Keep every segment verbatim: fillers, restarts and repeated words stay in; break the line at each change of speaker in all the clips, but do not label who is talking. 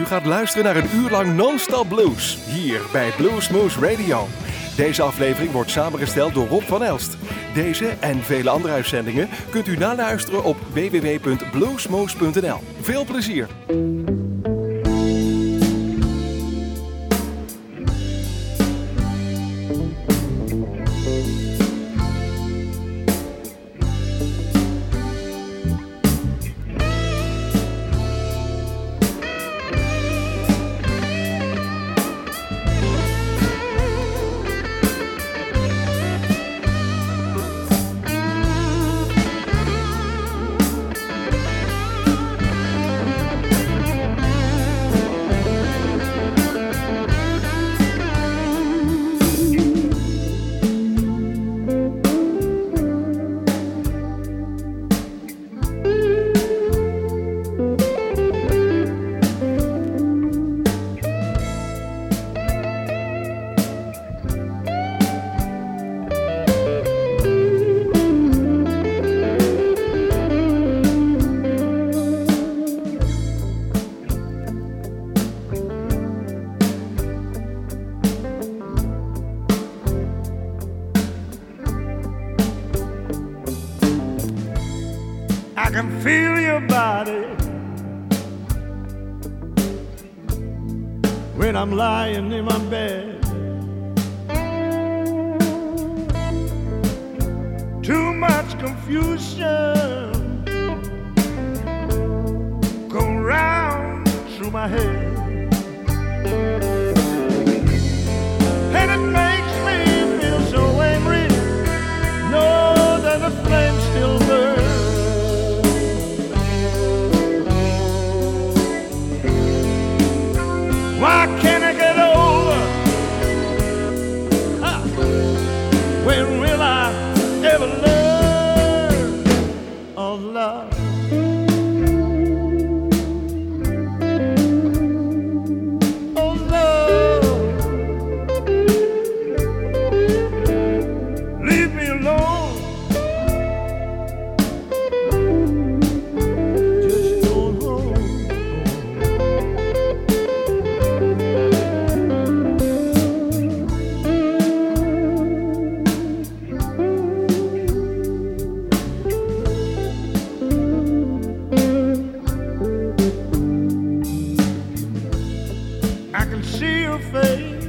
U gaat luisteren naar een uur lang non-stop blues, hier bij Bluesmoose Radio. Deze aflevering wordt samengesteld door Rob van Elst. Deze en vele andere uitzendingen kunt u naluisteren op w w w punt bluesmoose punt n l. Veel plezier!
I can feel your body when I'm lying in my bed. Too much confusion go round through my head, and it makes me feel so angry. Know that the flame still burns. Why can't I get over? Ah, when will I ever learn of love? Oh, love, leave me alone. Just don't hold. I can see your face,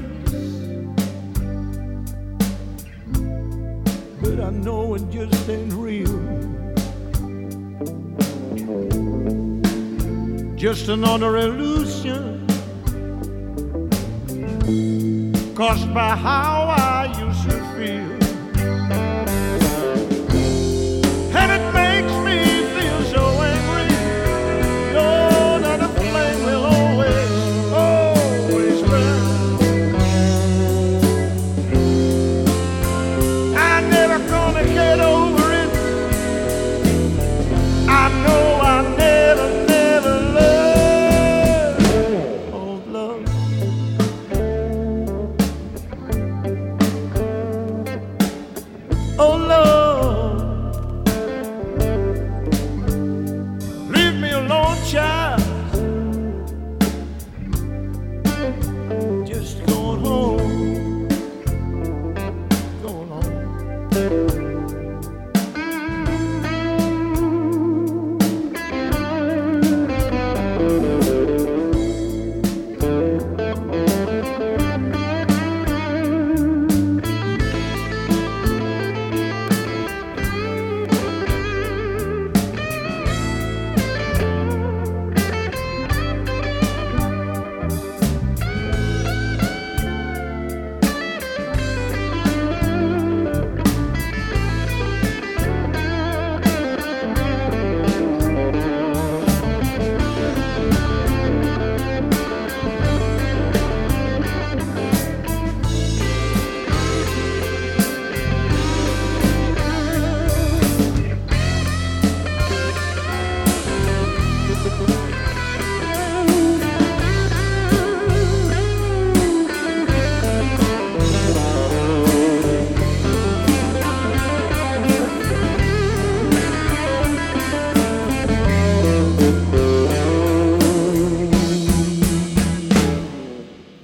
but I know it just ain't real. Just another illusion caused by how I used to feel, and it makes me feel so angry. Know that the flame will always, always burn. I'm never gonna get over it. I know I never, never learn of love.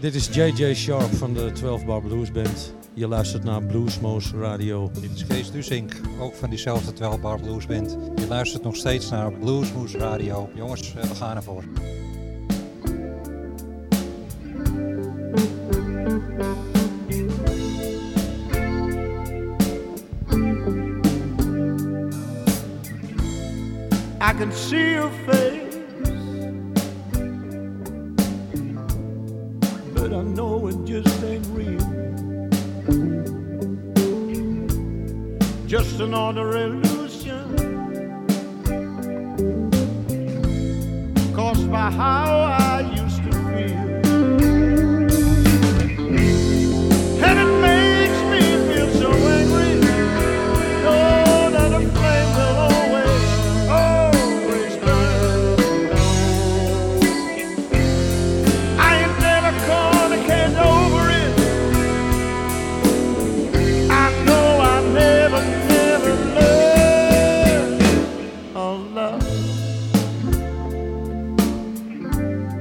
dit is J J Sharp van de twaalf bar Blues Band. Je luistert naar Bluesmoose Radio.
Dit is Kees Dusink, ook van diezelfde twaalf bar Blues Band. Je luistert nog steeds naar Bluesmoose Radio. Jongens, we gaan ervoor.
I can see your face, but I know it just ain't real. Just another illusion caused by how I used to feel, and it makes me feel so angry. Know that a flame will always, always burn. I ain't never gonna get over it. I know I never, never learned of love.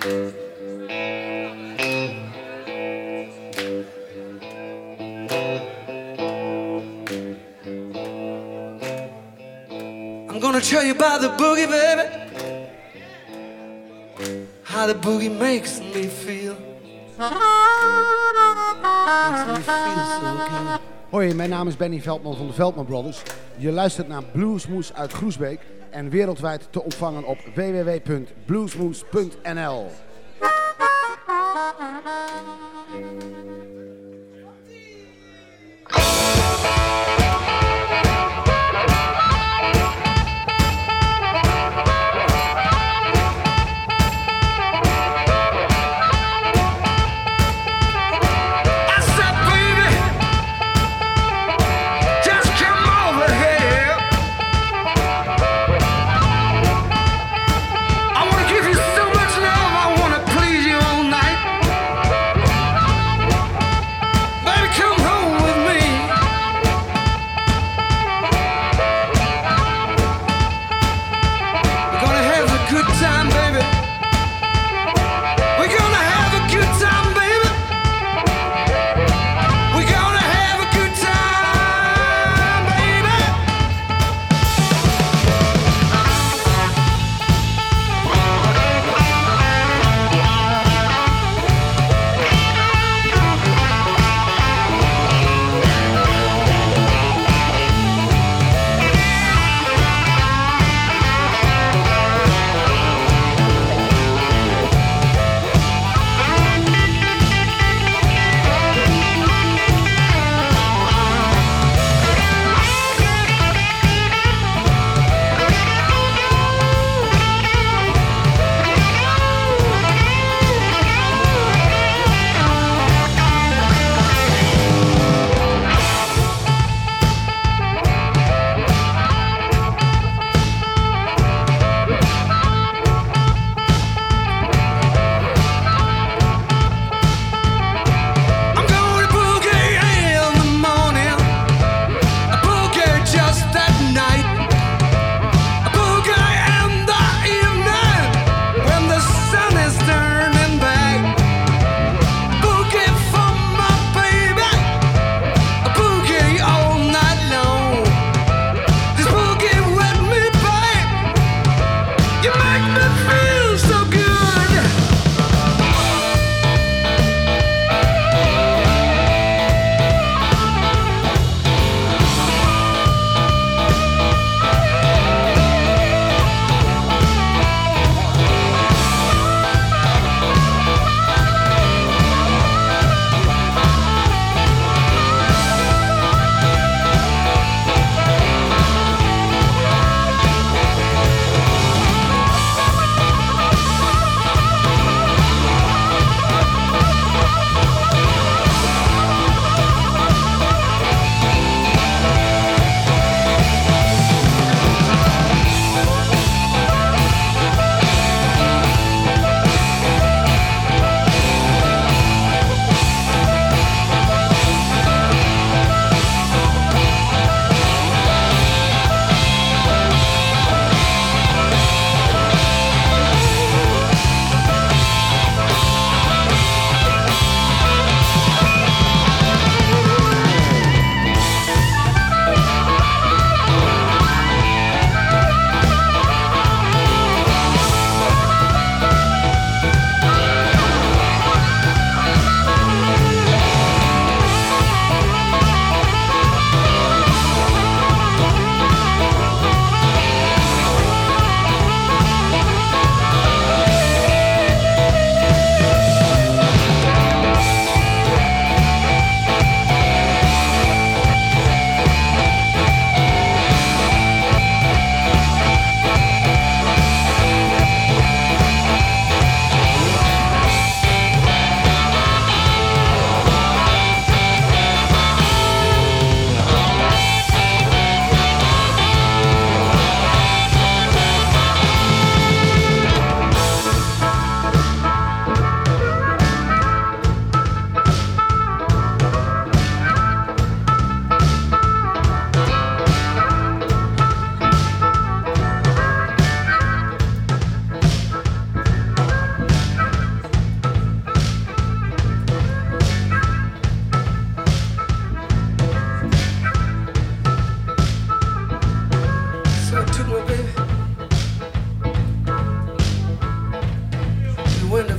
I'm gonna tell you about the boogie, baby. How the boogie makes me feel. Makes me feel so good.
Hoi, mijn naam is Benny Veldman van de Veldman Brothers. Je luistert naar Bluesmoes uit Groesbeek en wereldwijd te ontvangen op w w w punt bluesmoes punt n l.
I wanna give you so much love, I wanna please you all night.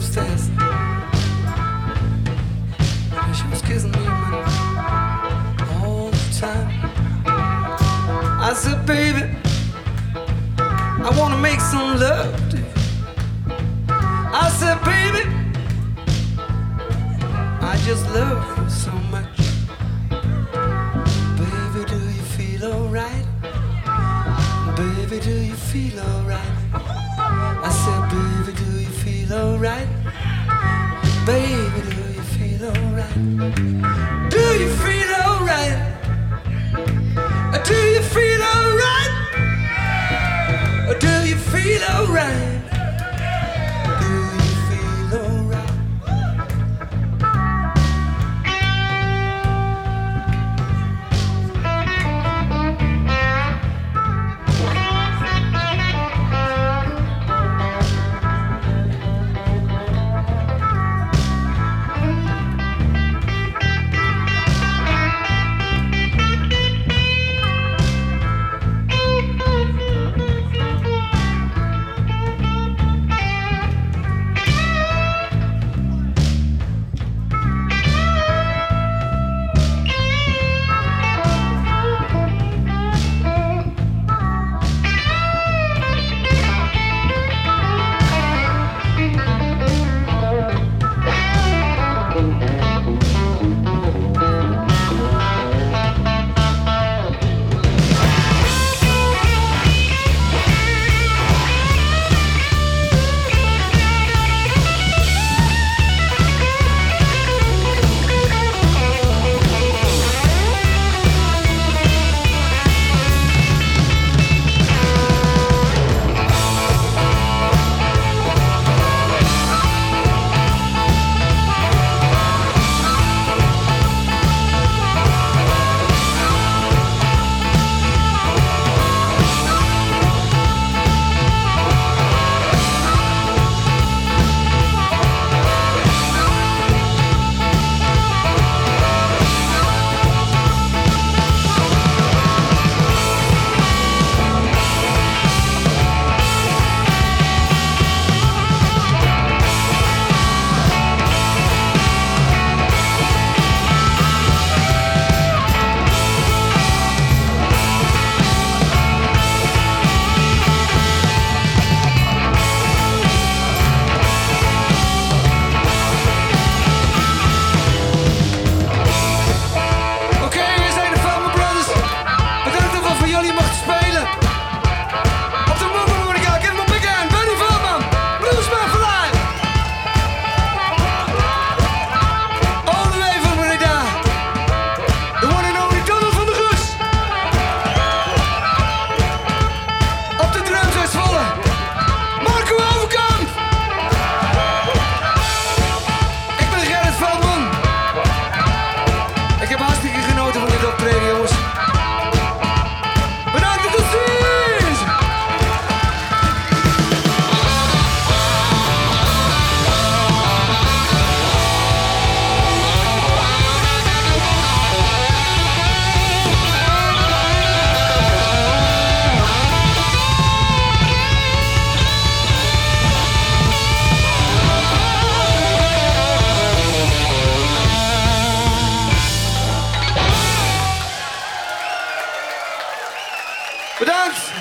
fast. She was kissing me all the time. I said, baby, I wanna make some love to you. I said, baby, I just love you so much. Baby, do you feel alright? Baby, do you feel alright? I said, baby, do you feel alright? Baby, do you feel alright? Do you feel alright? Do you feel alright? Do you feel alright? Do you feel alright? Bedankt!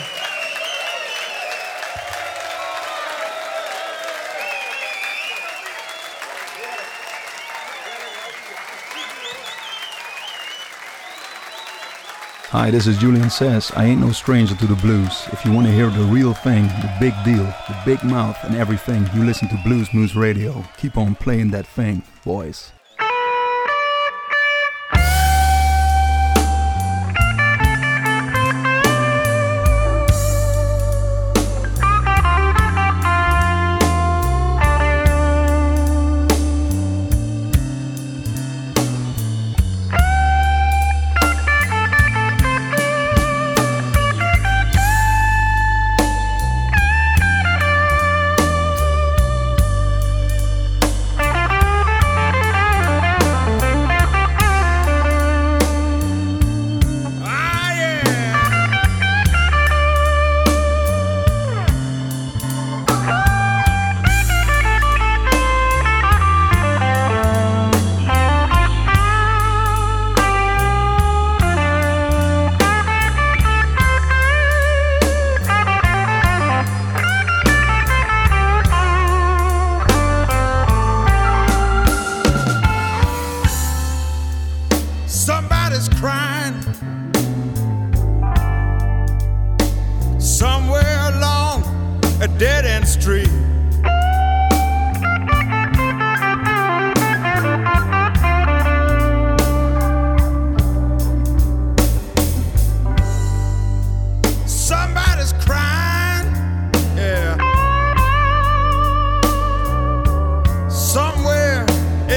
Hi, this is Julian Says. I ain't no stranger to the blues. If you want to hear the real thing, the big deal, the big mouth and everything, you listen to Blues Moose Radio. Keep on playing that thing, boys.
Thank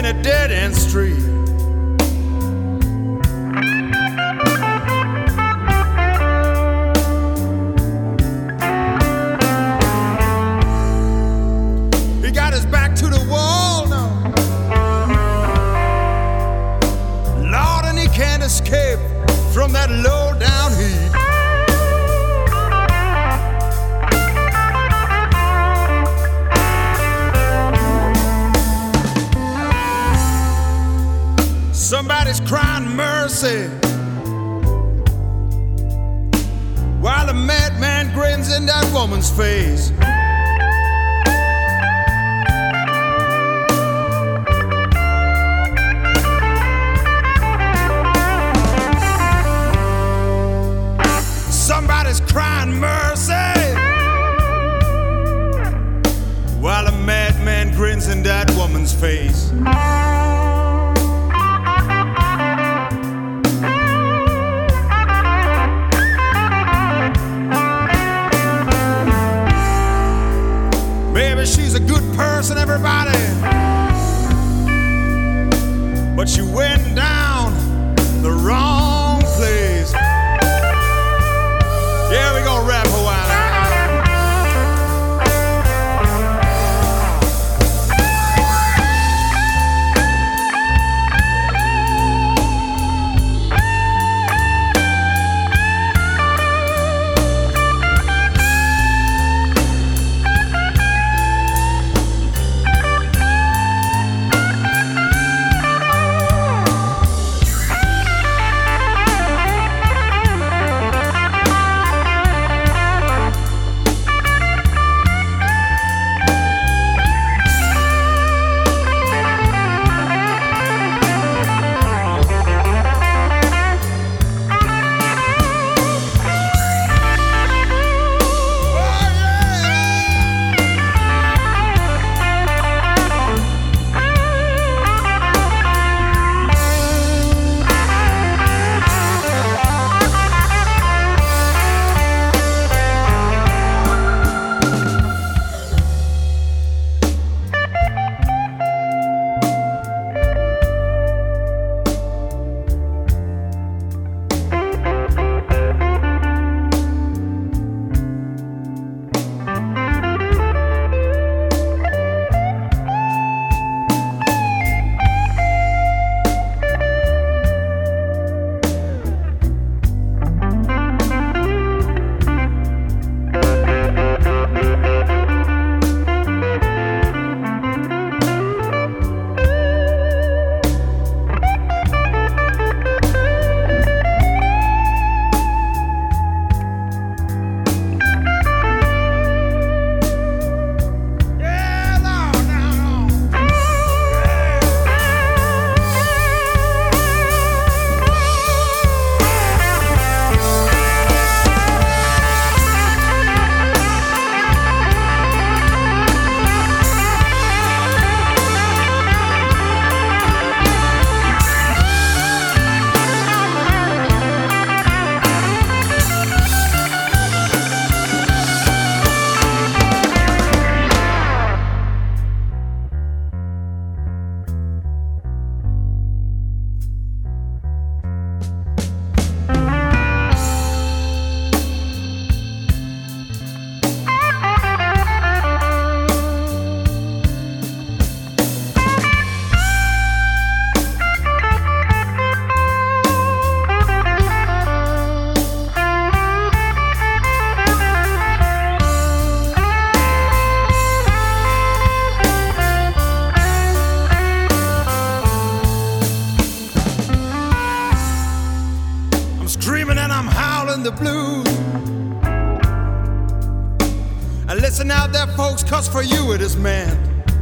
in a dead-end street. He got his back to the wall now, Lord, and he can't escape from that low-down heat. Somebody's crying mercy while a madman grins in that woman's face. Somebody's crying mercy while a madman grins in that woman's face. She's a good person, everybody, but she went down the wrong place. Yeah, we gonna rap a while. The blues. And listen out there, folks, 'cause for you it is meant.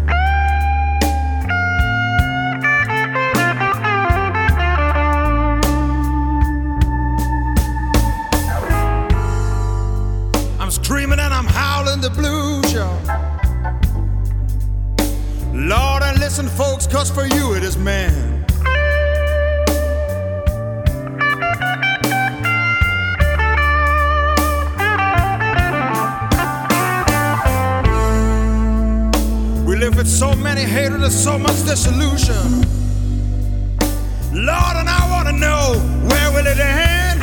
I'm screaming and I'm howling the blues, y'all. Lord, and listen, folks, 'cause for you it is meant. With so many many hatred and so much disillusion. Lord, and I want to know, where will it end?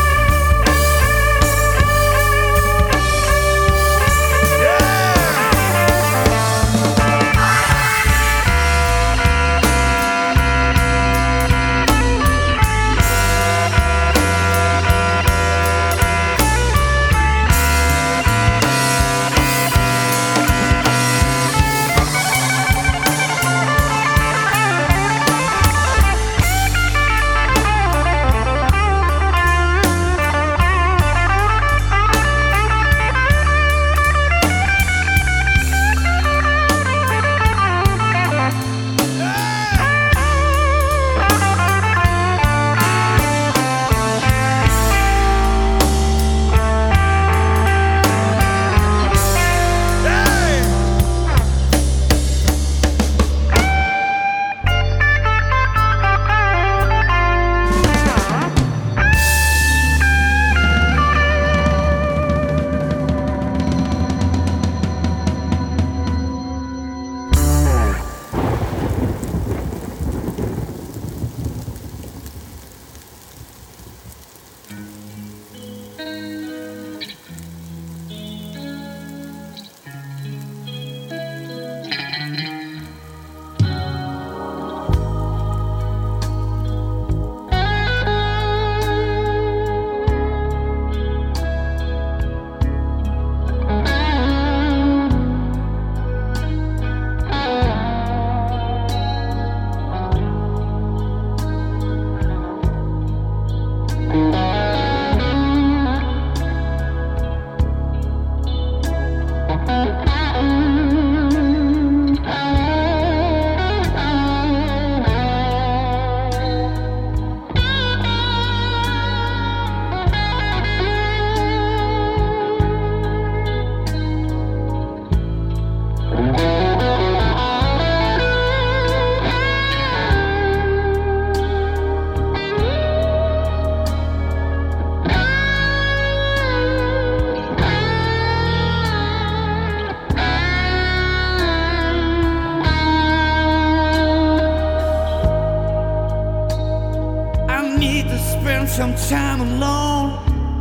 Some time alone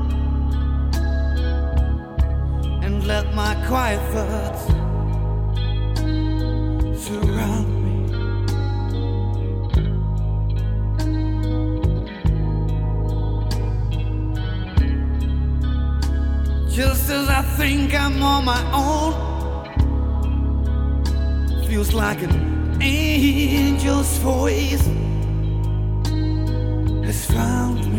and let my quiet thoughts surround me. Just as I think I'm on my own, feels like an angel's voice has found me.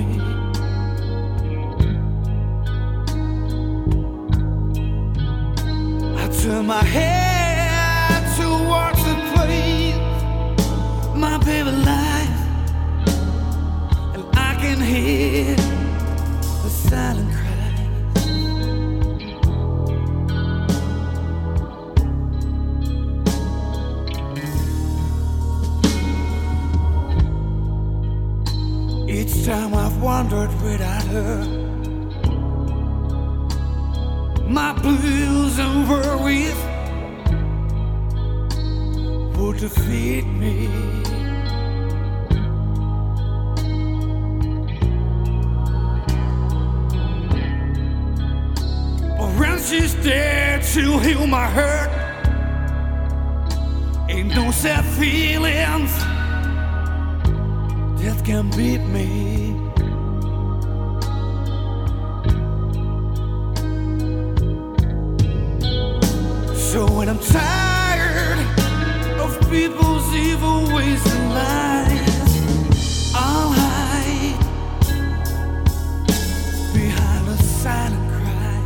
I turn my head towards the place my baby lies, and I can hear the silent cries. Each time I've wandered without her, my blues and worries would defeat me. But when she's there to heal my hurt, ain't no sad feelings that can beat me. So when I'm tired of people's evil ways and lies, I'll hide behind a silent cry.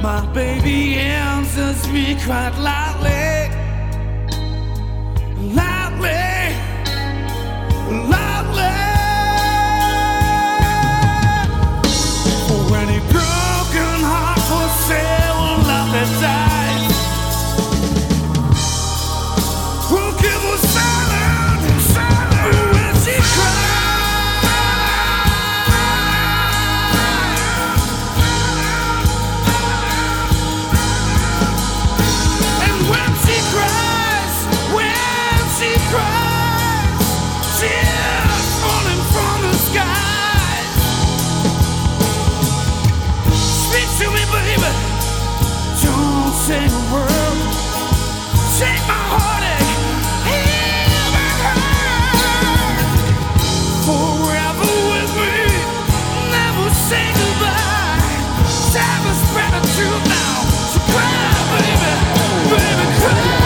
My baby answers me quite loudly, loudly, loudly. For any broken heart for sale will not be died. Who'll give her silent, silent when she cries? Say a word, take my heartache, heal my hurt. Forever with me, never say goodbye. Time is spread the truth now, so cry, baby, baby, cry.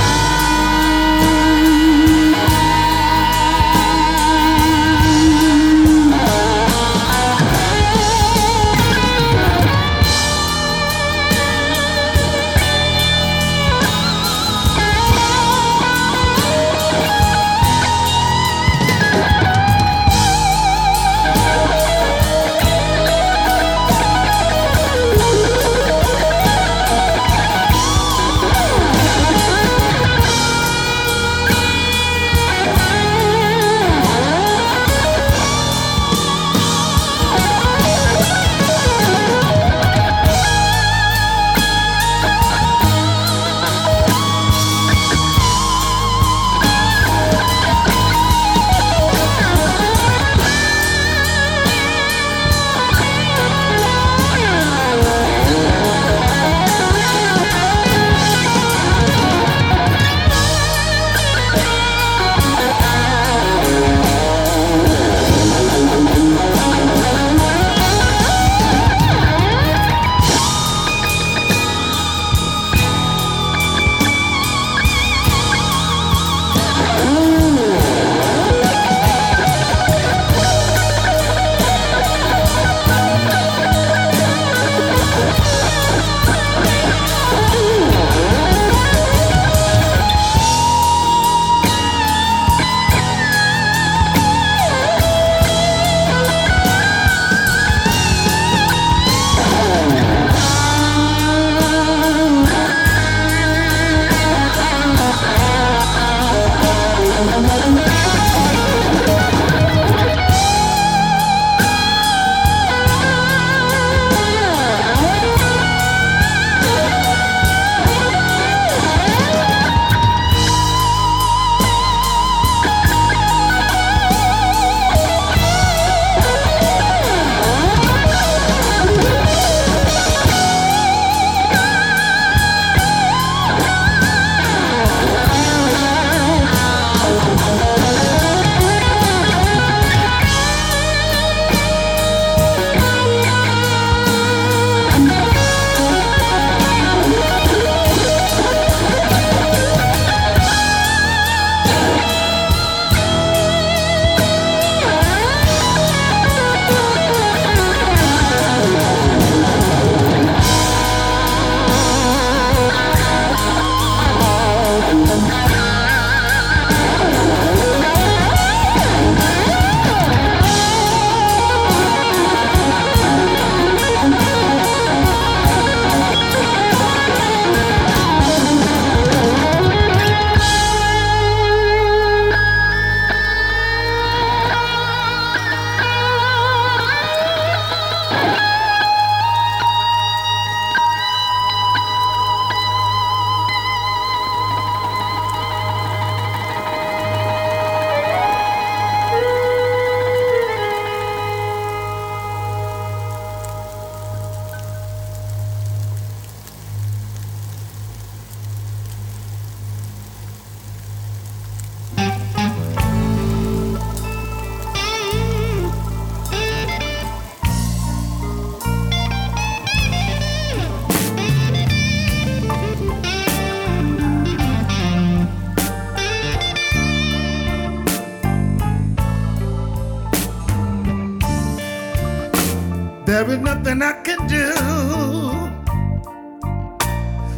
There is nothing I can do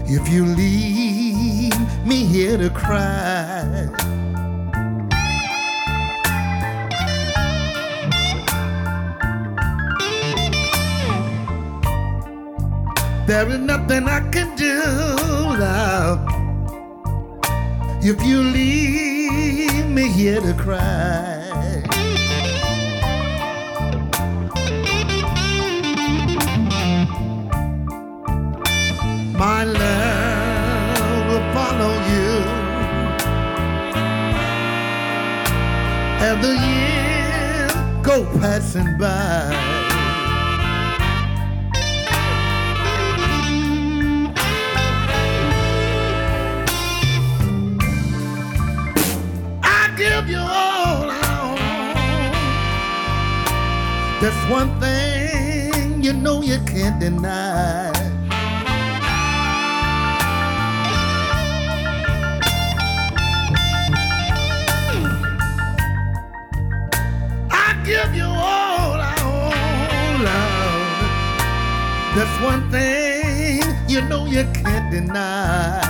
if you leave me here to cry. There is nothing I can do, love, if you leave me here to cry. My love will follow you as the years go passing by. Give you all I own. That's one thing you know you can't deny. I give you all I own, love. That's one thing you know you can't deny.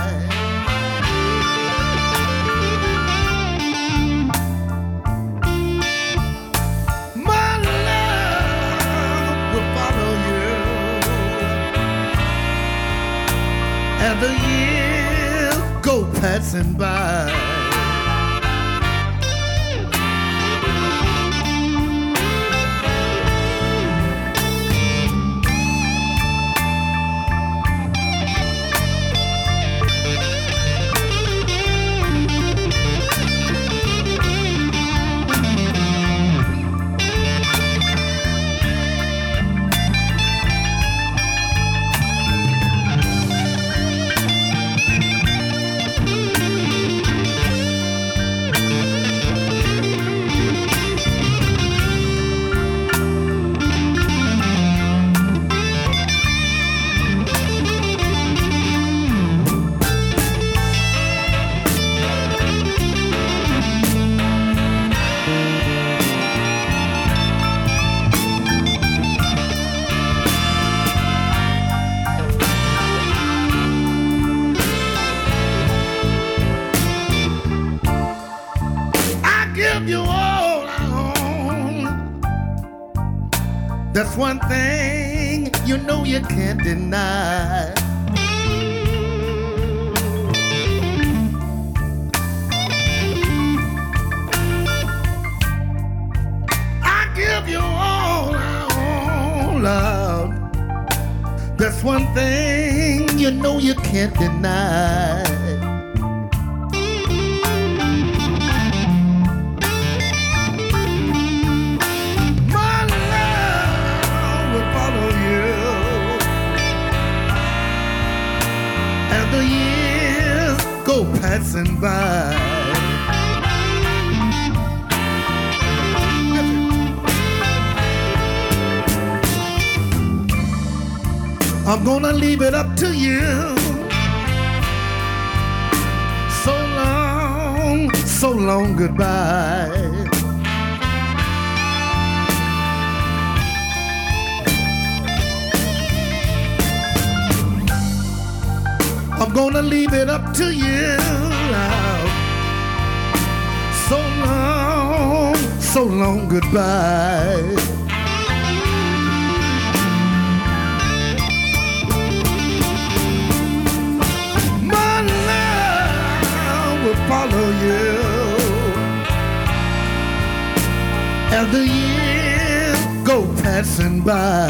And the years go passing by. That's one thing you know you can't deny. I give you all I own, love. That's one thing you know you can't deny. The years go passing by. I'm gonna leave it up to you. So long, so long goodbye. I'm gonna leave it up to you. So long, so long goodbye. My love will follow you as the years go passing by.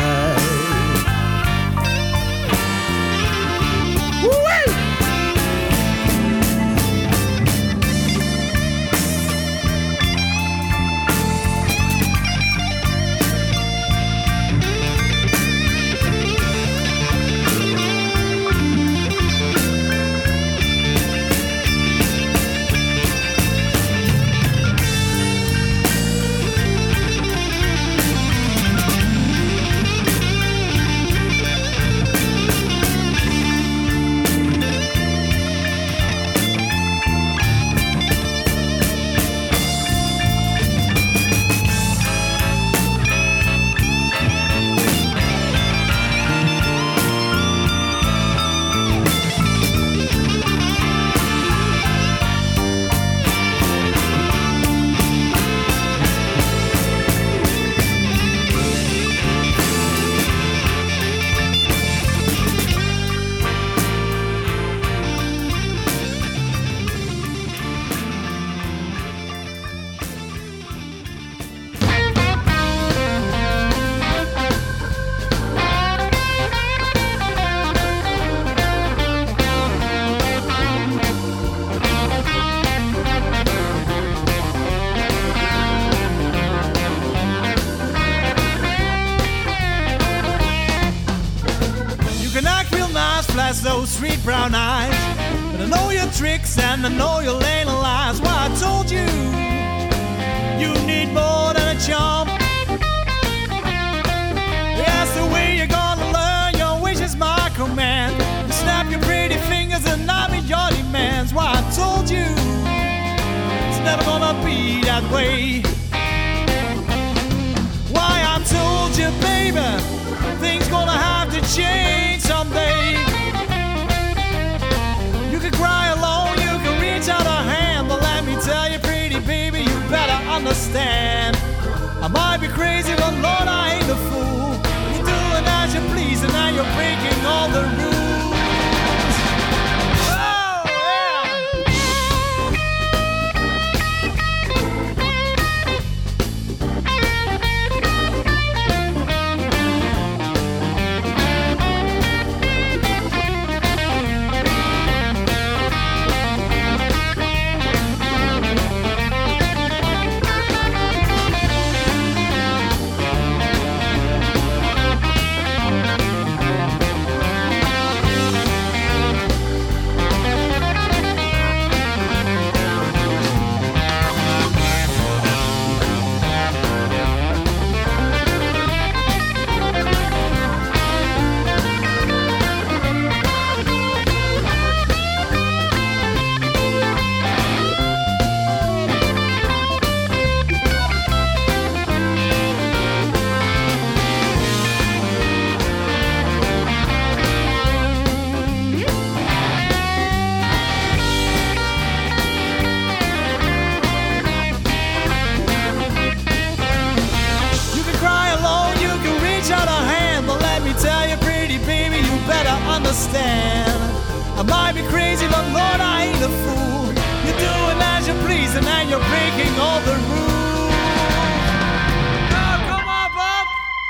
flash those sweet brown eyes. But I know your tricks and I know your little lies. Well, I told you, you need more than a charm. That's the way you're gonna learn. Your wish is my command. You snap your pretty fingers and I meet your demands. Well, I told you, it's never gonna be that way. Why, I told you, baby, things gonna have to change someday. You can cry alone, you can reach out a hand, but let me tell you, pretty baby, you better understand. I might be crazy, but Lord, I ain't a fool. You're doing as you please, and now you're breaking all the rules. I might be crazy, but Lord, I ain't a fool. You're doing as you please, and now you're breaking all the rules. Oh, come on, Bob.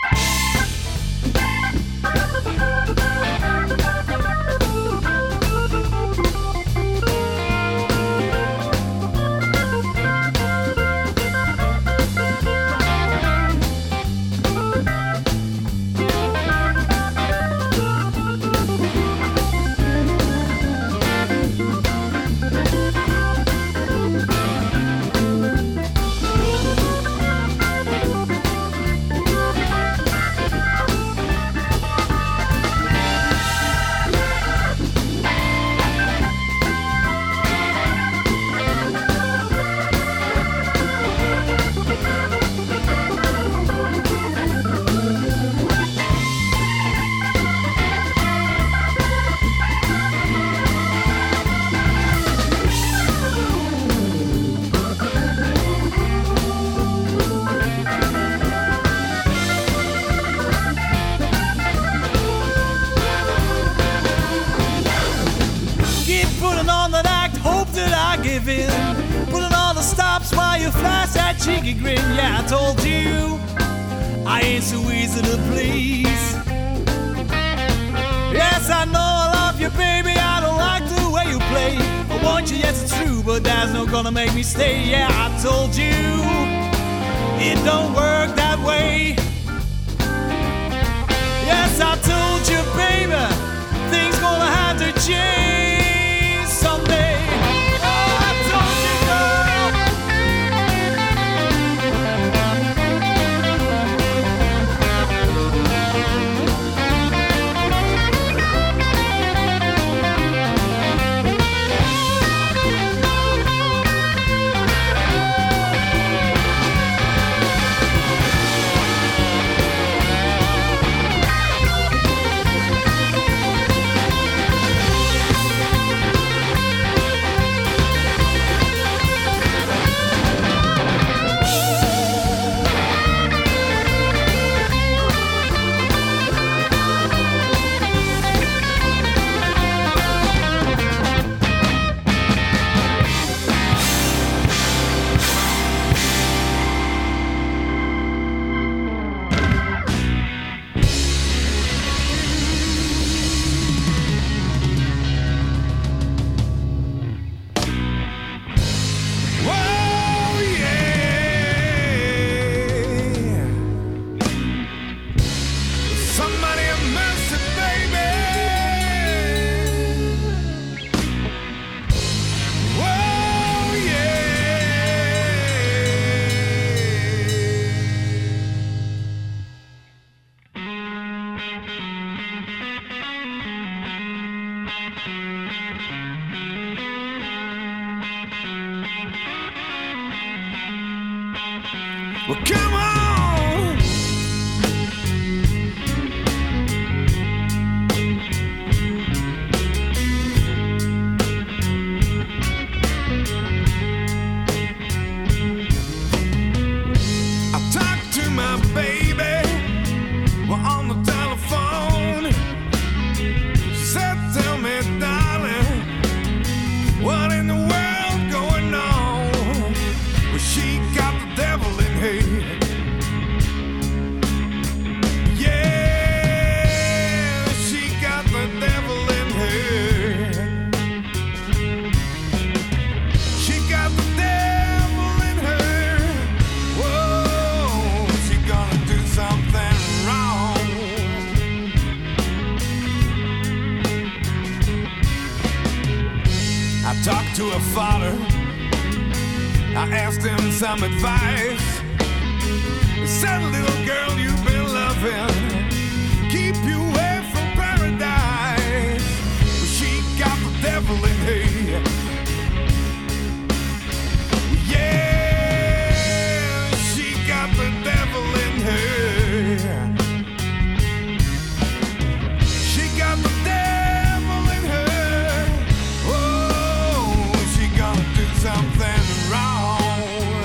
Putting all the stops while you flash that cheeky grin. Yeah, I told you I ain't so easy to please. Yes, I know I love you, baby. I don't like the way you play. I want you, yes, it's true, but that's not gonna make me stay. Yeah, I told you it don't work that way. Yes, I told you, baby, things gonna have to change someday.
Well, come on. To her father, I asked him some advice. He said, little girl, you've been loving, keep you away from paradise. Well, she got the devil in her. Yeah, she got the devil in her. She got the devil in her. Something wrong.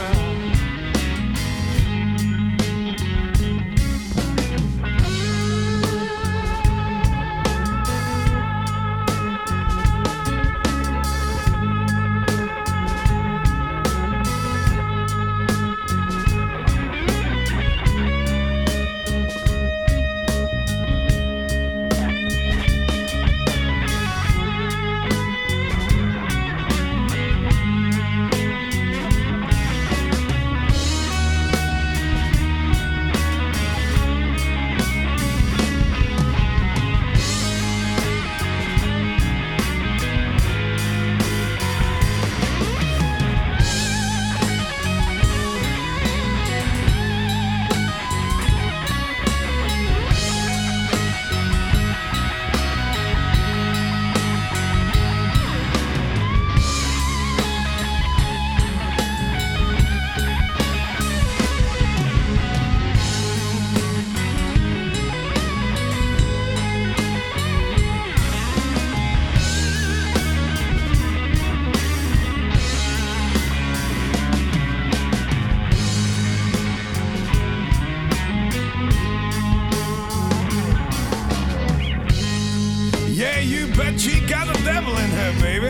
Bet she got the devil in her, baby.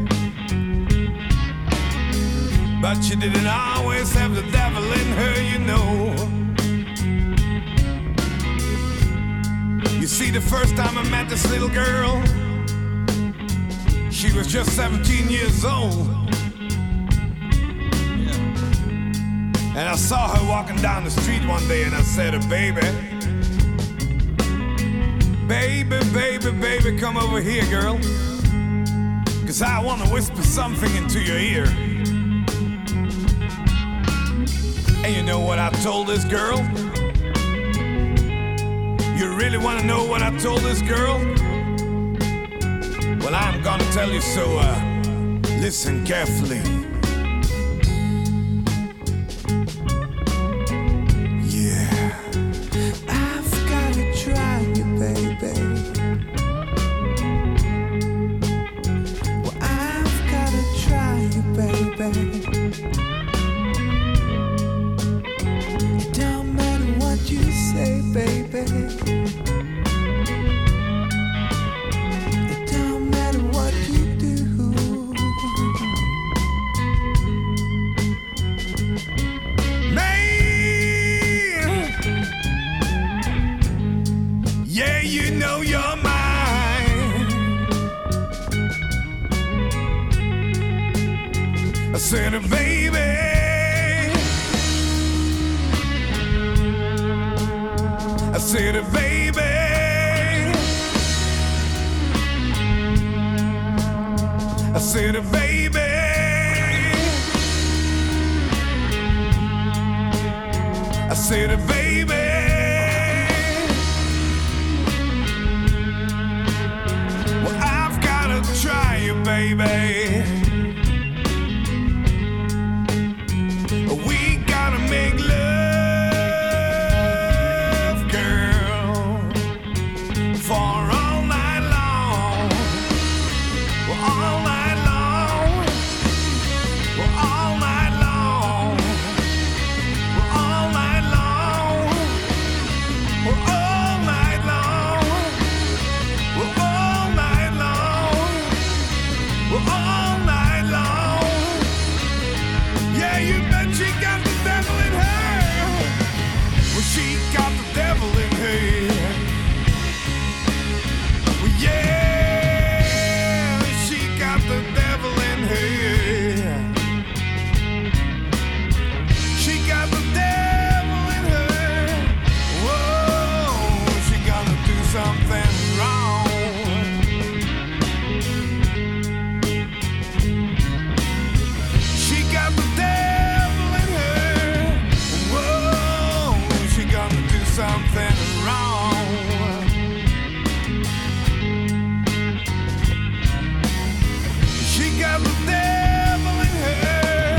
But she didn't always have the devil in her, you know. You see, the first time I met this little girl, she was just seventeen years old. And I saw her walking down the street one day and I said to her, baby, Baby, baby, baby, come over here, girl. Cause I want to whisper something into your ear. And you know what I told this girl? You really want to know what I told this girl? Well, I'm gonna tell you, so uh, listen carefully. I said, baby, I said, baby, I said, baby, I said, baby, well, I've gotta try you, baby. Make love. got the devil in her.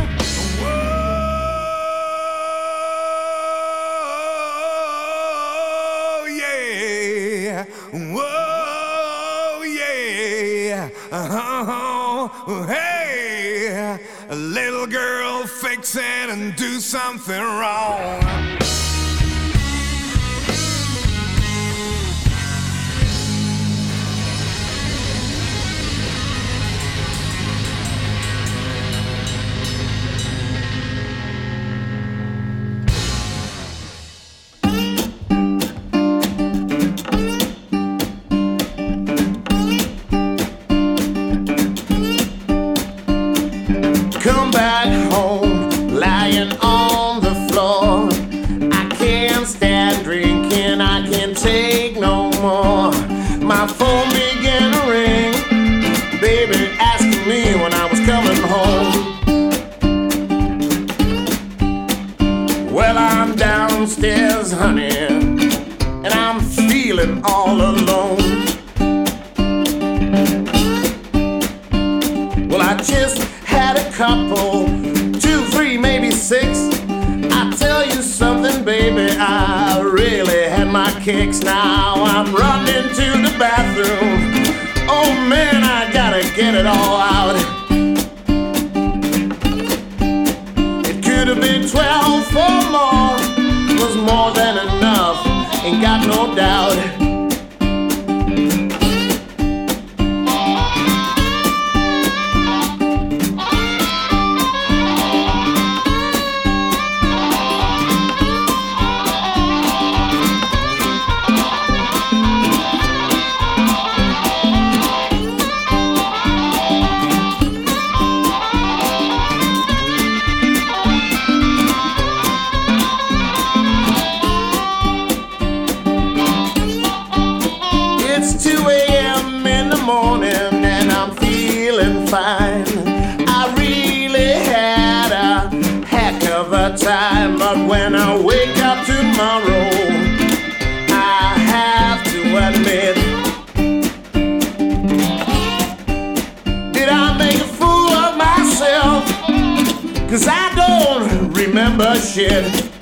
Whoa, yeah. Whoa, yeah. Uh-huh. Hey, a little girl fix it and do something wrong.
Come back home, lying on the floor. I can't stand drinking, I can't take no more. My phone began to ring, baby asking me when I was coming home. Well, I'm downstairs, honey, and I'm feeling all alone. Well, I just had a couple, two, three, maybe six. I tell you something, baby, I really had my kicks. Now I'm running to the bathroom. Oh man, I gotta get it all out. It could have been twelve or more, was more than enough, ain't got no doubt. I really had a heck of a time, but when I wake up tomorrow, I have to admit, did I make a fool of myself? 'Cause I don't remember shit.